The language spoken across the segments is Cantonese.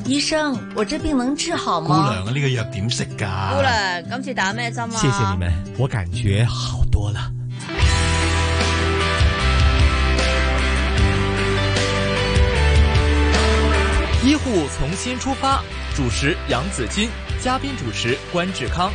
醫生，我這病能治好嗎？ 姑娘啊，呢個藥點食㗎？ 姑娘，今次打咩針啊？ 謝謝你們，我感覺好多了。 醫護從新出發，主持楊子矜，嘉賓主持關志康。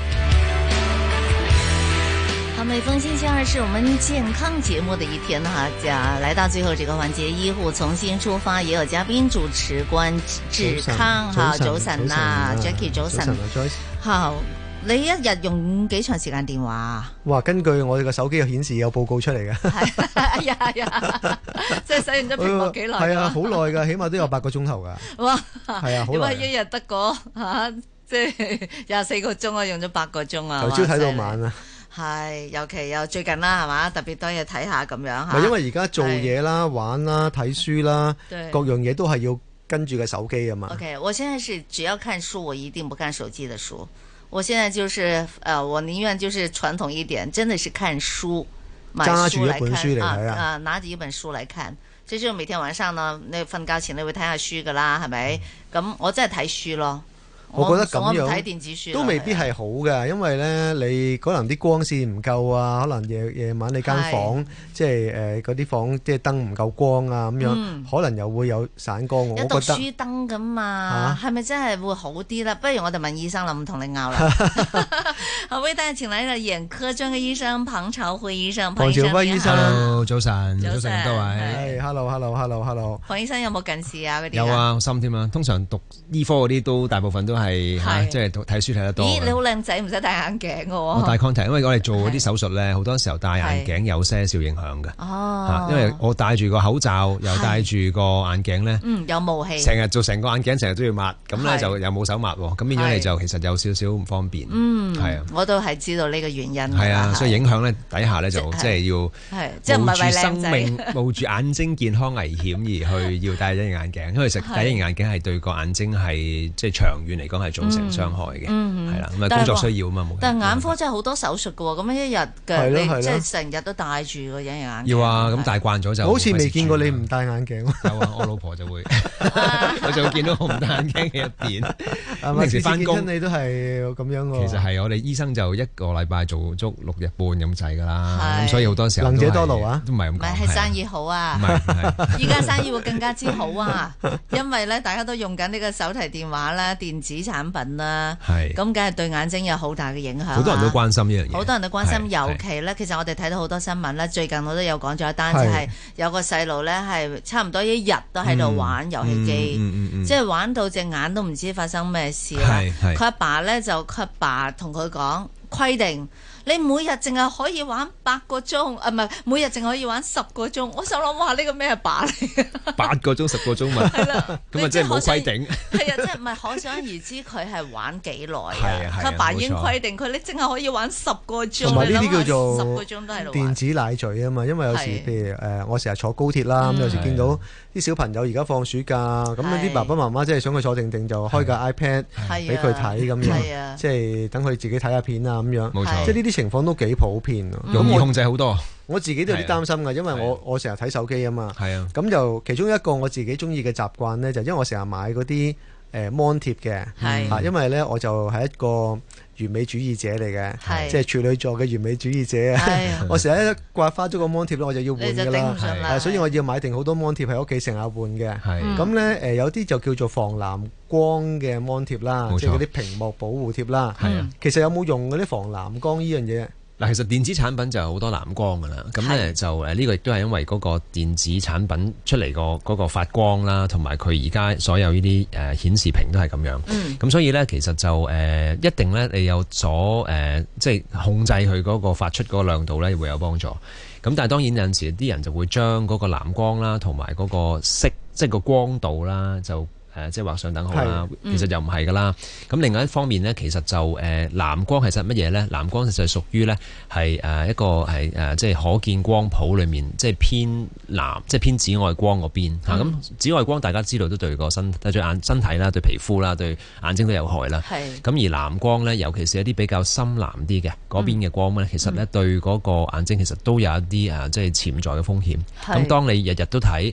好，每逢星期二是我們健康節目的一天哈，來到最後這個環節，醫護從新出發，也有嘉賓主持關志康。好，早晨啦 ，Jackie 早晨。好，你一日用幾長時間電話啊？ 哇，根據我哋個手機有顯示有報告出嚟嘅。 係呀，即係使用咗屏幕幾耐？ 係啊，好耐㗎，起碼都有8個鐘頭㗎。哇，係啊，好耐。 點解一日得個即係24個鐘啊？用咗8個鐘啊？ 由朝睇到晚啊！ 係，尤其又最近啦，係嘛？特別多嘢睇下咁樣嚇。 因為而家做嘢啦、玩啦、睇書啦，各樣嘢都係要跟住個手機啊嘛。 OK， 我現在是只要看書，我一定不看手機的書。我現在就是我寧願就是傳統一點，真的是看書， 揸住一本書嚟睇啊！ 拿住一本書嚟看，即係每天晚上呢，你瞓覺前你會睇下書噶啦，係咪？咁我真係睇書咯。 我覺得咁樣睇電子書都未必係好嘅，因為咧你可能啲光線唔夠啊，可能夜晚你間房即係嗰啲房即係燈唔夠光啊咁樣，可能又會有散光。我覺得有讀書燈咁嘛，係咪真係會好啲啦？不如我哋問醫生啦，唔同你拗啦。好，為大家請來了眼科專科醫生龐朝輝醫生。 龐朝輝醫生 ，Hello， 早晨，早晨各位。 Hello。 龐醫生有冇近視啊？嗰啲有啊，心添啊。通常讀醫科嗰啲都大部分都係即係睇書睇得多。 咦，你好靚仔，唔使戴眼鏡嘅喎。 我戴 contact，因為我哋做嗰啲手術咧，好多時候戴眼鏡有些少影響嘅。哦，因為我戴住個口罩，又戴住個眼鏡咧， 有霧氣， 成日做成個眼鏡，成日都要抹，咁咧就又冇手抹，咁變咗你就其實有少少唔方便。係啊， 我都係知道呢個原因。 係啊，所以影響咧底下咧就即係要冒住生命、冒住眼睛健康危險而去要戴一隻眼鏡，因為其實戴一隻眼鏡係對個眼睛係即係長遠嚟講係造成傷害嘅，係啦，咁啊工作需要啊嘛。 但係眼科真係好多手術嘅喎，咁一日嘅你即係成日都戴住個隱形眼鏡。 要啊，咁戴慣咗就好似未見過你唔戴眼鏡。 有啊，我老婆就會，我就會見到我唔戴眼鏡嘅一邊。 平時翻工你都係咁樣喎。 其實係我哋醫生就1個禮拜做足6日半咁滯㗎啦，咁所以好多時候能者多勞啊， 都唔係咁講。 唔係，係生意好啊，依家生意會更加之好啊，因為咧大家都用緊呢個手提電話啦、電子產品啦，咁梗係對眼睛有好大嘅影響。 好多人都關心呢樣嘢， 好多人都關心，尤其咧，其實我哋睇到好多新聞咧，最近我都有講咗一單，就係有個細路咧係差唔多一日都喺度玩遊戲機，即係玩到隻眼都唔知發生咩事啦。佢阿爸咧佢阿爸同佢講規定。你每日淨係可以玩8個鐘，唔係每日淨可以玩10個鐘。我想諗，哇！呢個咩把嚟 ？8個鐘、10個鐘嘛，係啦，咁啊即係冇規定。 係啊，即係唔係可想而知佢係玩幾耐啊？佢阿爸已經規定佢，你淨係可以玩10個鐘。 同埋呢啲叫做 10個鐘都喺度玩電子奶嘴啊嘛，因為有時譬如我成日坐高鐵啦，咁有時見到啲小朋友而家放暑假，咁啲爸爸媽媽真係想佢坐定定就開個 iPad 俾佢睇咁樣，即係等佢自己睇下片啊咁樣。 冇錯， 即係呢啲情況都幾普遍， 容易控制好多。 我自己都有啲擔心㗎，因為我成日睇手機啊嘛。 係啊， 咁就其中一個我自己中意嘅習慣咧，就因為我成日買嗰啲芒貼嘅，因為咧我就係一個完美主義者嚟嘅，即係處女座嘅完美主義者啊！我成日一刮花咗個芒貼咧，我就要換㗎啦，所以我要買定好多芒貼喺屋企成日換嘅。咁咧有啲就叫做防藍光嘅芒貼啦，即係嗰啲屏幕保護貼啦。其實有冇用嗰啲防藍光呢樣嘢？ 嗱，其實電子產品就有好多藍光㗎啦，咁咧就呢個亦都係因為嗰個電子產品出嚟嗰個發光啦，同埋佢而家所有呢啲顯示屏都係咁樣。咁所以咧，其實就一定咧，你有所即係控制佢嗰個發出嗰個亮度咧，會有幫助。咁但係當然有陣時啲人就會將嗰個藍光啦，同埋嗰個色，即係個光度啦，就即係畫上等號啦，其實又唔係噶啦。咁另外一方面呢，其實就藍光係實乜嘢呢？藍光其實係屬於呢係一個係即係可見光譜裏面即係偏藍，即係偏紫外光嗰邊嚇。咁紫外光大家知道都對個身體啦、對皮膚啦、對眼睛都有害啦。咁而藍光呢，尤其是一啲比較深藍啲嘅嗰邊嘅光呢，其實呢對嗰個眼睛其實都有一啲即係潛在嘅風險。咁當你日日都睇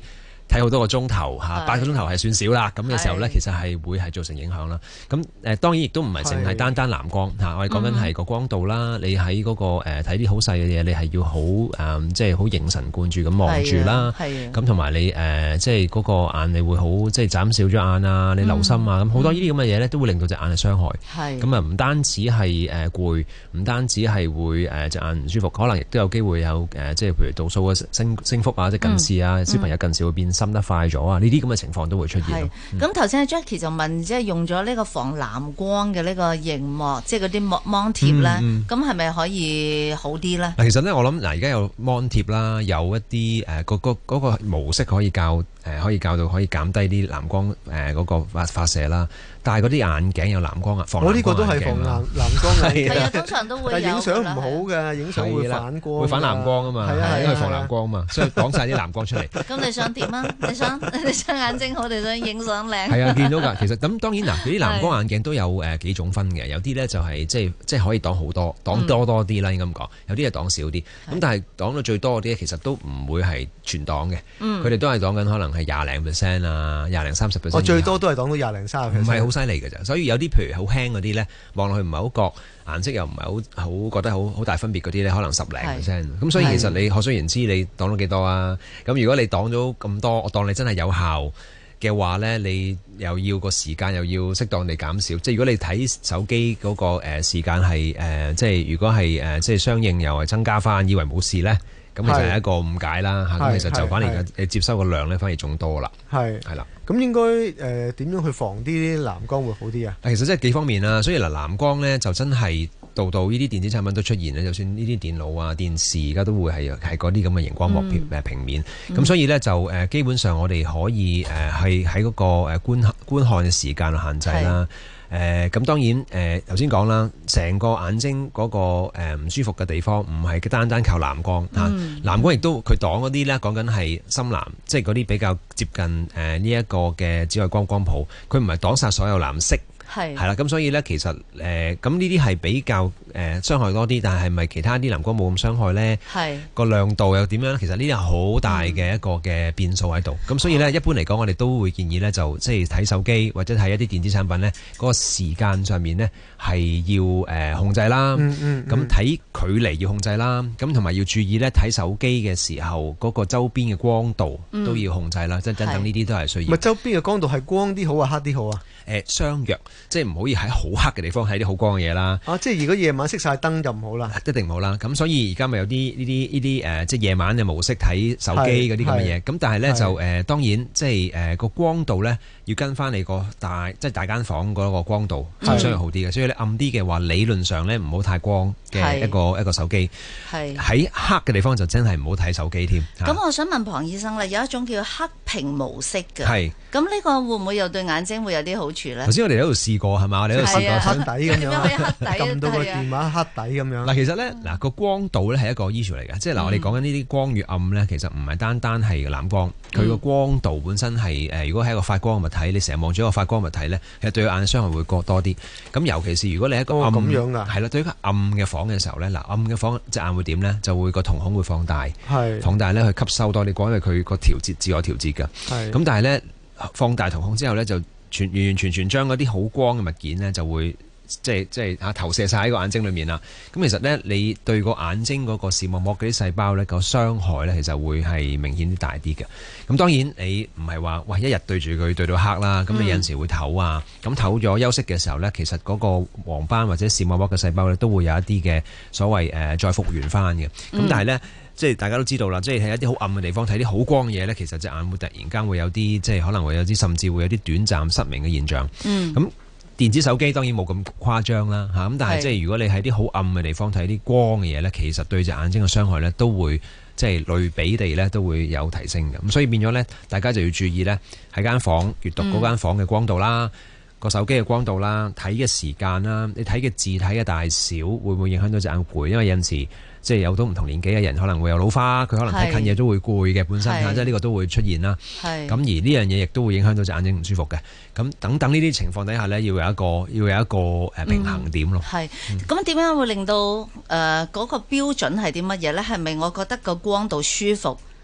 睇好多個鐘頭嚇，8個鐘頭係算少啦。咁嘅時候咧，其實係會係造成影響啦。咁當然亦都唔係淨係單藍光嚇，我哋講緊係個光度啦。你喺嗰個睇啲好細嘅嘢，你係要好即係好凝神貫注咁望住啦。咁同埋你即係嗰個眼你會好即係眨少咗眼啊，你留心啊，咁好多呢啲咁嘅嘢咧，都會令到隻眼係傷害。咁啊唔單止係攰，唔單止係會隻眼唔舒服，可能亦都有機會有即係譬如度數嘅升幅啊，即係近視啊，小朋友近視會變深得快咗啊，呢啲咁嘅情況都會出現。 咁頭先 Jackie 就問，即係用咗呢個防藍光嘅呢個熒幕，即係嗰啲芒貼咧，咁係咪可以好啲咧？ 嗱，其實咧我諗而家有芒貼啦，有一啲嗰個模式可以教到可以減低啲藍光嗰個發射啦。但係嗰啲眼鏡有藍光啊，防藍光眼鏡。我呢個都係防藍光眼鏡。係啊，通常都會有。但係影相唔好嘅，影相會反光。會反藍光啊嘛，因為防藍光啊嘛，所以擋晒啲藍光出嚟。咁你想點啊？你想眼睛好定想影相靚？係啊，見到㗎。其實咁當然嗱，啲藍光眼鏡都有幾種分嘅，有啲咧就係即係可以擋好多，擋多啲啦，應該咁講。有啲係擋少啲。咁但係擋到最多嗰啲其實都唔會係全擋嘅。佢哋都係擋緊可能係20%啊，20-30%。我最多都係擋到20-30%。唔係好犀利嘅咋，所以有啲譬如好輕嗰啲咧，望落去唔係好覺，顏色又唔係好覺得好大分別嗰啲咧，可能10%。咁所以其實你可想而知，你擋到幾多啊？咁如果你擋咗咁多，我當你真係有效嘅話咧，你又要個時間又要適當地減少。即係如果你睇手機嗰個時間係即係如果係即係相應又係增加翻，以為冇事咧。咁其實係一個誤解啦嚇，咁其實就反而你接收個量咧，反而仲多啦。係啦，咁應該點樣去防啲藍光會好啲啊？其實真係幾方面啦，所以藍光咧就真係度呢啲電子產品都出現咧，就算呢啲電腦啊、電視而家都會係嗰啲咁嘅熒光幕平面。咁所以咧就基本上我哋可以係喺嗰個觀看嘅時間限制啦。咁當然頭先講啦，成個眼睛嗰個唔舒服嘅地方唔係單靠藍光嚇，藍光亦都佢擋嗰啲咧，講緊係深藍，即係嗰啲比較接近呢一個嘅紫外光光譜，佢唔係擋晒所有藍色。係啦，咁所以咧，其實咁呢啲係比較傷害多啲，但係咪其他啲藍光冇咁傷害咧？係個亮度又點樣咧？其實呢啲係好大嘅一個嘅變數喺度。咁所以咧，一般嚟講，我哋都會建議咧，就即係睇手機或者睇一啲電子產品咧，嗰個時間上面咧係要控制啦。咁睇距離要控制啦。咁同埋要注意咧，睇手機嘅時候嗰個周邊嘅光度都要控制啦。即係等等呢啲都係需要。咪周邊嘅光度係光啲好啊，黑啲好啊？相若，即係唔可以喺好黑嘅地方睇啲好光嘅嘢啦。即係如果夜晚熄晒燈就唔好啦，一定唔好啦。咁所以而家咪有啲呢啲即係夜晚嘅模式睇手機嗰啲咁嘅嘢。咁但係咧就當然即係個光度咧要跟翻你個大間房嗰個光度就相對好啲嘅。所以你暗啲嘅話，理論上咧唔好太光嘅一個手機。喺黑嘅地方就真係唔好睇手機添。 咁我想問龐醫生咧，有一種叫黑屏模式嘅。係。咁呢個會唔會又對眼睛會有啲好處咧？頭先我哋喺度試過係嘛？我哋喺度試過黑底咁樣，撳到個電話黑底咁樣。嗱，其實咧個光度咧係一個 issue 嚟嘅，即係嗱我哋講緊呢啲光越暗咧，其實唔係單係藍光，佢個光度本身係如果係一個發光嘅物體，你成日望住一個發光物體咧，其實對眼傷害會過多啲。咁尤其是如果你喺一個暗咁樣㗎，係啦，對一個暗嘅房嘅時候咧，嗱暗嘅房隻眼會點咧？就會個瞳孔會放大，放大咧去吸收多啲光，因為佢個自我調節㗎。咁但係咧。放大瞳孔之後咧，就完完全全將嗰啲好光嘅物件咧，就會即係投射晒喺個眼睛裏面啦。咁其實咧，你對個眼睛嗰個視網膜嗰啲細胞咧，個傷害咧，其實會係明顯啲大啲嘅。咁當然你唔係話喂一日對住佢對到黑啦，咁你有陣時會唞啊，咁唞咗休息嘅時候咧，其實嗰個黃斑或者視網膜嘅細胞咧，都會有一啲嘅所謂再復原翻嘅。咁但係咧。即係大家都知道啦，即係喺一啲好暗嘅地方睇啲好光嘅嘢咧，其實隻眼會突然間會有啲，即係可能會有啲，甚至會有啲短暫失明嘅現象。咁電子手機當然冇咁誇張啦，嚇咁，但係即係如果你喺啲好暗嘅地方睇啲光嘅嘢咧，其實對隻眼睛嘅傷害咧都會即係類比地咧都會有提升嘅。咁所以變咗咧，大家就要注意咧喺間房閱讀嗰間房嘅光度啦，個手機嘅光度啦，睇嘅時間啦，你睇嘅字體嘅大小會唔會影響到隻眼攰？因為有陣時。即係有到唔同年紀嘅人可能會有老花，佢可能睇近嘢都會攰嘅本身嚇，即係呢個都會出現啦。咁而呢樣嘢亦都會影響到隻眼睛唔舒服嘅。咁等等呢啲情況底下咧，要有一個平衡點咯。係咁點樣會令到嗰個標準係啲乜嘢咧？係咪我覺得個光度舒服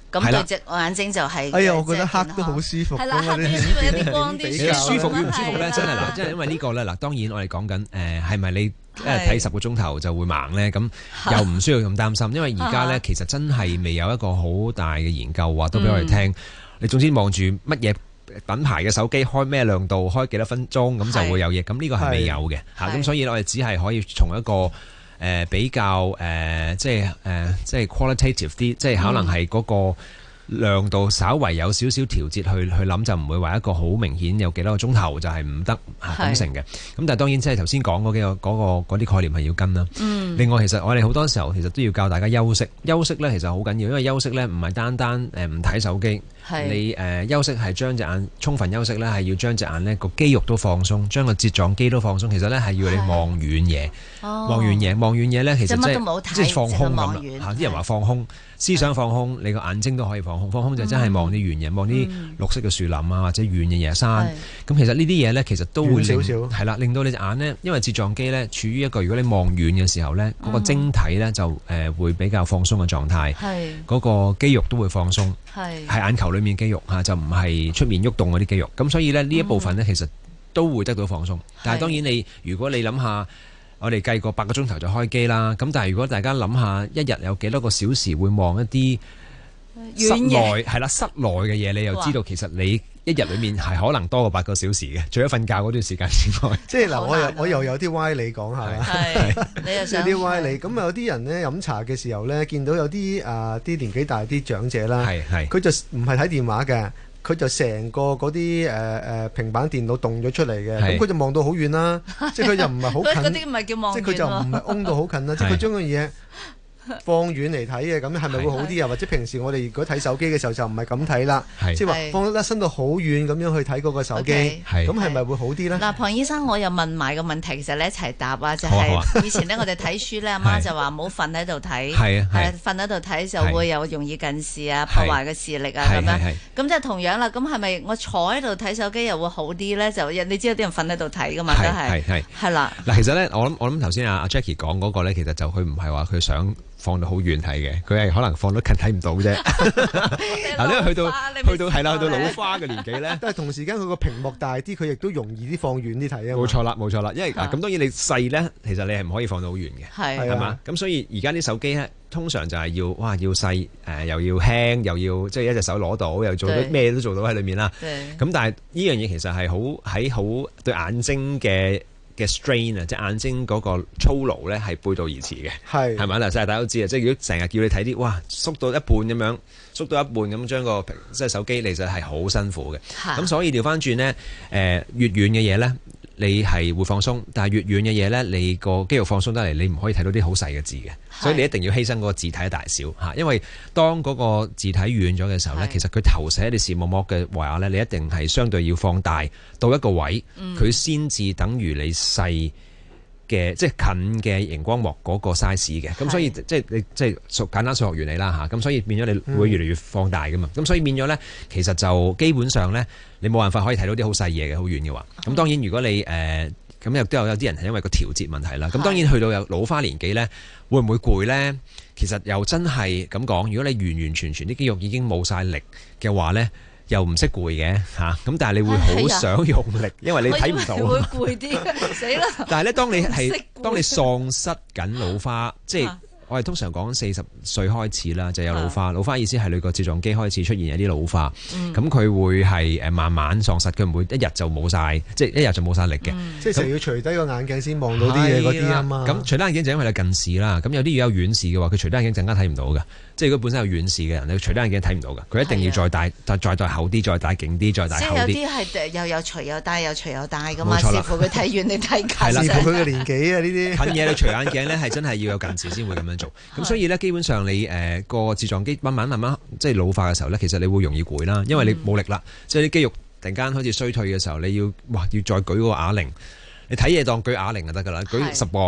咁對隻眼睛就係。 哎呀，我覺得黑都好舒服。 係啦，黑都舒服，有啲光啲。 舒服與唔舒服咧，真係嗱，即係因為呢個咧嗱，當然我哋講緊係咪你睇10個鐘頭就會盲咧？咁又唔需要咁擔心，因為而家咧其實真係未有一個好大嘅研究話都俾我哋聽。你總之望住乜嘢品牌嘅手機，開咩亮度，開幾多分鐘，咁就會有嘢。咁呢個係未有嘅嚇。咁所以我哋只係可以從一個比較即係 qualitative 啲，即係可能係嗰個亮度稍為有少少調節去諗，就唔會話一個好明顯有幾多個鐘頭就係唔得咁成嘅。咁但係當然即係頭先講嗰啲概念係要跟啦。另外其實我哋好多時候其實都要教大家休息。休息咧其實好緊要，因為休息咧唔係單單唔睇手機。你休息係將隻眼充分休息咧，係要將隻眼呢個肌肉都放鬆，將個睫狀肌都放鬆。其實咧係要你望遠嘢，望遠嘢咧其實即係放空咁啦。啲人話放空，思想放空，你個眼睛都可以放空。放空就真係望啲遠嘢，望啲綠色嘅樹林啊，或者遠嘅野山。咁其實呢啲嘢咧，其實都會係啦，令到你隻眼呢，因為睫狀肌咧處於一個如果你望遠嘅時候咧，嗰個晶體咧就會比較放鬆嘅狀態，嗰個肌肉都會放鬆，係眼球裏面肌肉嚇，就唔係出面喐動嗰啲肌肉。咁所以咧呢一部分咧其實都會得到放鬆。但係當然如果你諗下，我哋計過8個鐘頭就開機啦。咁但係如果大家諗下一日有幾多個小時會望一啲室內嘅嘢，你又知道其實你一日裏面係可能多過8個小時嘅，除咗瞓覺嗰段時間之外。即係嗱，我又有啲歪理講下啦。你又想啲歪理咁有啲人咧飲茶嘅時候咧，見到有啲啲年紀大啲長者啦，佢就唔係睇電話嘅。佢就成個嗰啲平板電腦動咗出嚟嘅，咁佢就望到好遠啦，即係佢就唔係好近，嗰啲唔係叫望遠，即係佢就唔係擁到好近啦，即係佢將個嘢放遠嚟睇嘅，咁係咪會好啲啊？或者平時我哋如果睇手機嘅時候就唔係咁睇啦，即係話放得伸到好遠咁樣去睇嗰個手機，咁係咪會好啲咧？嗱，龐醫生，我又問埋個問題，其實你一齊答啊，就係以前咧我哋睇書咧，阿媽就話唔好瞓喺度睇，係瞓喺度睇就會有容易近視啊，破壞個視力啊咁樣。咁即係同樣啦，咁係咪我坐喺度睇手機又會好啲咧？就你知道啲人瞓喺度睇噶嘛，都係啦。嗱，其實咧我諗頭先阿 Jackie 講嗰個咧，其實就佢唔係話佢想放到好遠睇嘅，佢係可能放到近睇唔到啫。嗱，因為去到老花嘅年紀咧，但係同時間佢個屏幕大啲，佢亦都容易啲放遠啲睇啊。冇錯啦，因為咁當然你細咧，其實你係唔可以放到好遠嘅，係嘛？咁所以而家啲手機咧，通常就係要細又要輕，又要即係一隻手攞到，又做到咩都做到喺裏面啦。咁但係呢樣嘢其實係好對眼睛嘅 strain 啊，即係眼睛嗰個操勞咧係背道而馳嘅，係咪？嗱，大家都知啊，即係如果成日叫你睇啲縮到一半咁樣，縮到一半咁將個即係手機，其實係好辛苦嘅。咁所以調翻轉咧，越遠嘅嘢咧，你係會放鬆，但係越遠嘅嘢咧，你個肌肉放鬆得嚟，你唔可以睇到啲好細嘅字嘅，所以你一定要犧牲嗰個字體嘅大小嚇，因為當嗰個字體遠咗嘅時候咧，其實佢投射喺你視網膜嘅話咧，你一定係相對要放大到一個位，佢先至等於你細嘅即係近嘅熒光幕嗰個 size 嘅，咁所以即係簡單數學原理啦嚇，咁所以變咗你會越嚟越放大噶嘛，咁所以變咗咧，其實就基本上咧，你冇辦法可以睇到啲好細嘢嘅，好遠嘅話，咁當然如果你咁亦都有啲人係因為個調節問題啦，咁當然去到有老花年紀咧，會唔會攰咧？其實又真係咁講，如果你完完全全啲肌肉已經冇晒力嘅話咧，又唔識攰嘅嚇，咁但係你會好想用力，因為你睇唔到，會攰啲，死啦！但係咧，當你喪失緊老花，即係我哋通常講40歲開始啦，就有老花。老花意思係你個睫狀肌開始出現有啲老花，咁佢會係慢慢喪失，佢唔會一日就冇晒，即係一日就冇晒力嘅。即係成日要除低個眼鏡先望到啲嘢嗰啲啊嘛。咁除低眼鏡就因為你近視啦，咁有啲如果有遠視嘅話，佢除低眼鏡陣間睇唔到嘅。即係如果本身有遠視嘅人，你除低眼鏡睇唔到嘅，佢一定要再戴厚啲，再戴勁啲，再戴厚啲。即係有啲係又有除有戴，又除有戴噶嘛。視乎佢睇遠定睇近。係啦，視乎佢嘅年紀啊呢啲。近嘢你除眼鏡咧係真係要有近視先會咁樣做。咁所以咧基本上你個睫狀肌慢慢即係老化嘅時候咧，其實你會容易攰啦，因為你冇力啦，即係啲肌肉突然間開始衰退嘅時候，你要再舉個啞鈴，你睇嘢當舉啞鈴就得㗎啦，舉10磅。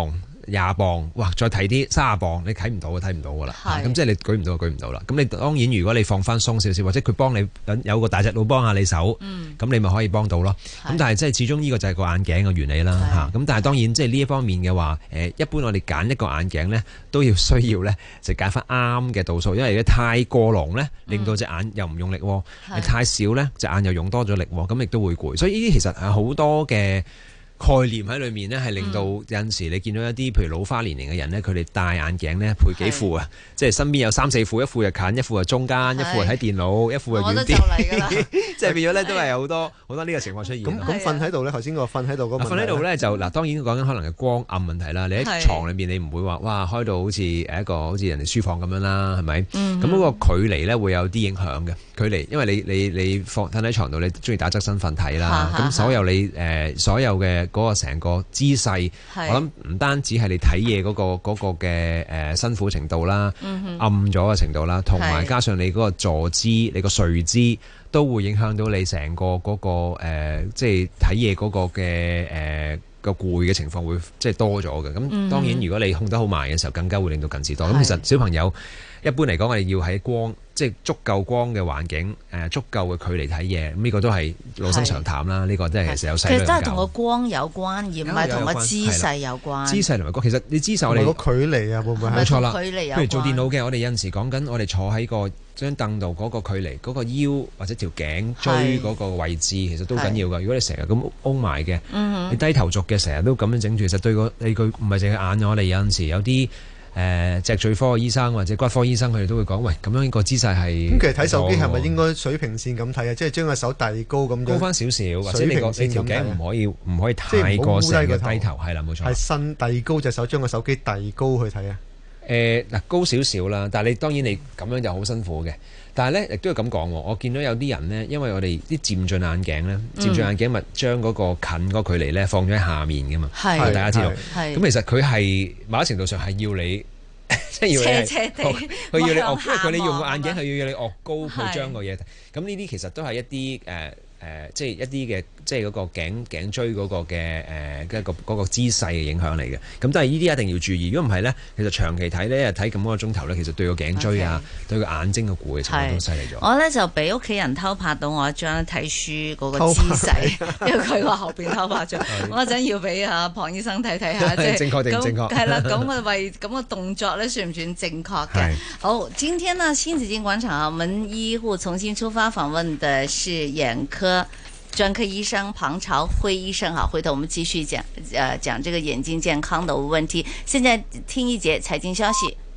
20磅，哇！再睇啲30磅，你睇唔到㗎啦。咁即係你舉唔到啦。咁你當然如果你放翻鬆少少，或者佢幫你有個大隻佬幫下你手，咁你咪可以幫到咯。咁但係即係始終呢個就係個眼鏡嘅原理啦。咁但係當然即係呢一方面嘅話，一般我哋揀一個眼鏡咧，都需要咧就揀翻啱嘅度數，因為如果太過濃咧，令到隻眼又唔用力；太少咧，隻眼又用多咗力，咁亦都會攰。所以呢啲其實係好多嘅概念喺裏面呢，係令到有陣時你見到一啲譬如老花年齡嘅人呢，佢哋戴眼鏡呢，配幾副啊，即係身邊有3-4副，一副就近，一副就中間，一副係睇電腦，一副就遠啲，即係變咗呢，都係有好多呢個情況出現。 咁瞓喺度呢，頭先個瞓喺度嗰個問題， 瞓喺度呢，就嗱，當然講緊可能係光暗問題啦。你喺床裏面你唔會話哇開到好似好似人哋書房咁樣啦，係咪？咁嗰個距離呢會有啲影響嘅距離，因為你瞓喺床度，你中意打側身瞓睇啦，咁所有嘅嗰個成個姿勢，我諗唔單止係你睇嘢嗰個嘅辛苦程度啦，暗咗嘅程度啦，同埋加上你嗰個坐姿、你個睡姿，都會影響到你成個嗰個即係睇嘢嗰個嘅個攰嘅情況會即係多咗嘅。咁當然如果你控得好埋嘅時候，更加會令到近視多。咁其實小朋友一般嚟講，我哋要喺光即係足夠光嘅環境，足夠嘅距離睇嘢，咁呢個都係老生常談啦。呢個真係其實有細量教。其實都係同個光有關，而唔係同個姿勢有關。姿勢同埋光，其實你姿勢我哋個距離啊，會唔會冇錯啦？ 譬如做電腦嘅，我哋有陣時講緊，我哋坐喺個張凳度嗰個距離，嗰個腰或者條頸椎嗰個位置，其實都緊要㗎。如果你成日咁彎埋嘅，你低頭族嘅，成日都咁樣整住，其實對個你佢唔係淨係眼，我哋有陣時有啲脊髓科嘅醫生或者骨科醫生，佢哋都會講，喂，咁樣個姿勢係咁。其實睇手機係咪應該水平線咁睇啊？即係將個手遞高咁樣，高翻少少，或者你條頸唔可以太過成個低頭，係啦，冇錯。係伸遞高隻手，將個手機遞高去睇啊。 嗱，高少少啦，但係你當然你咁樣就好辛苦嘅。但係咧，亦都要咁講喎。我見到有啲人呢，因為我哋啲漸進眼鏡咧，漸進眼鏡咪將嗰個近嗰距離咧放咗喺下面嘅嘛。係，大家知道。係。咁其實佢係某程度上係要你，即係要你斜地，佢要你岳，因為佢你用個眼鏡係要你岳高去將個嘢。咁呢啲其實都係一啲即係一啲嘅，即係嗰個頸椎嗰個嘅嗰個姿勢嘅影響嚟嘅。咁但係呢啲一定要注意。如果唔係咧，其實長期睇咧，睇咁多個鐘頭咧，其實對個頸椎啊，對個眼睛嘅攰嘅情況都犀利咗。我咧就俾屋企人偷拍到我一張睇書嗰個姿勢，因為佢話後邊偷拍咗。我嗰陣要俾阿龐醫生睇睇下，即係正確定唔正確？ 係啦，咁嘅為咁嘅動作咧，算唔算正確嘅？好，今天呢新紫荊廣場我們醫護重新出發訪問的是眼科專科醫生龐朝輝醫生。好，回頭我們繼續講這個眼睛健康的問題。現在聽一節財經消息。